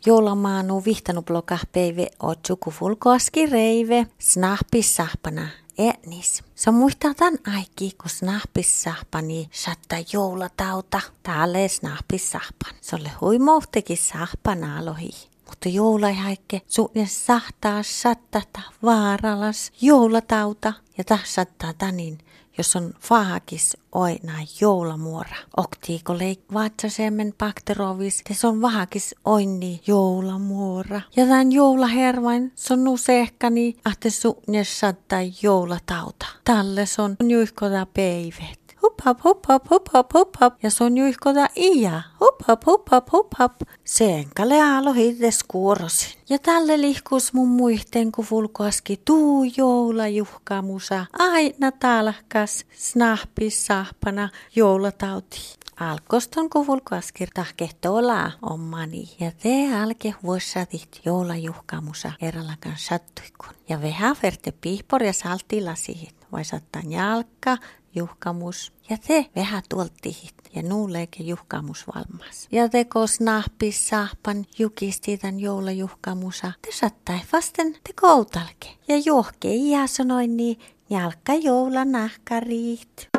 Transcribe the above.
joulamaanu vihtanuploka peive otsuku fulkoaski reive snahpissahpana etnis. Se muistaa tän aiki, kun snahpissahpani satta joulatauta. Täällä snahpissahpan. Se oli huimohtekin sahpana alohi. Mutta joulaihaike suunnin sahtaa sattata vaaralas joulatauta ja tahsattaa tanin, jos on vahakis oina joulamuora. Oktiiko leik vatsasemmen bakterovis, se on vahakis oini joulamuora. Ja tämän joulahervain se on usehkani, ahte suunnin saattaa joulatauta. Tälle se on juihkota peivet. Hup hop. Ja se on juihkota iä. Hup hop. Senkale aalo hites kuorosin. Ja tälle lihkus mun muihteen, kun fulkoaski tuu joulajuhkamusa. Aina talkas snahpissahpana joulatauti. Alkoston kun fulkoaski tahkehtolaa ommani. Ja te alke vuosatit joulajuhkamusa erälakan sattuikun. Ja veha verte pihpor ja saltilasihit. Vai sattaa jalka, juhkamus. Ja te vähän tuoltihit ja nuuleeke juhkamus valmas. Ja te kos nahpissahpan jukisti tän joulajuhkamusa. Te sattai vasten te koutalke. Ja johke iä sanoi niin jalka joula nahkariit.